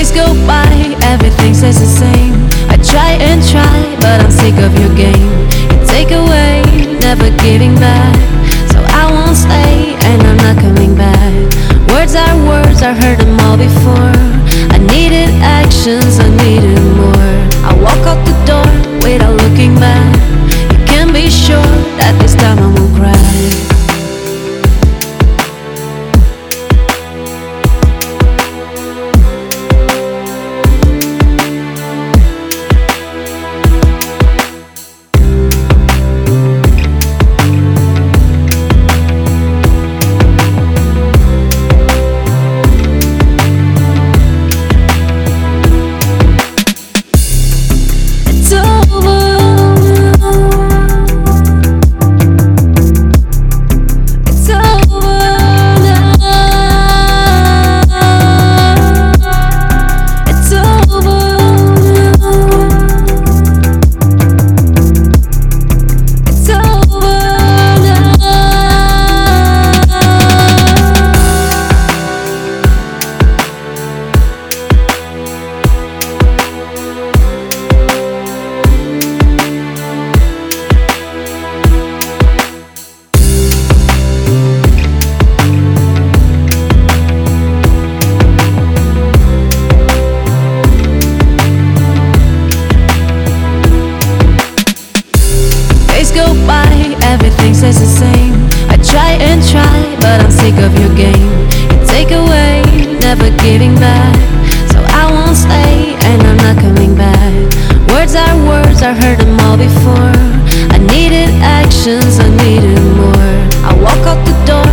Days go by, everything stays the same. I try and try, but I'm sick of your game. You take away, never giving back. So I won't stay, and I'm not coming back. Words are words, I've heard them all before. I needed actions, I needed more. I walk out the door without looking back. You can be sure that this time I won't cry. Go by, everything stays the same. I try and try, but I'm sick of your game. You take away, never giving back. So I won't stay, and I'm not coming back. Words are words, I've heard them all before. I needed actions, I needed more. I walk out the door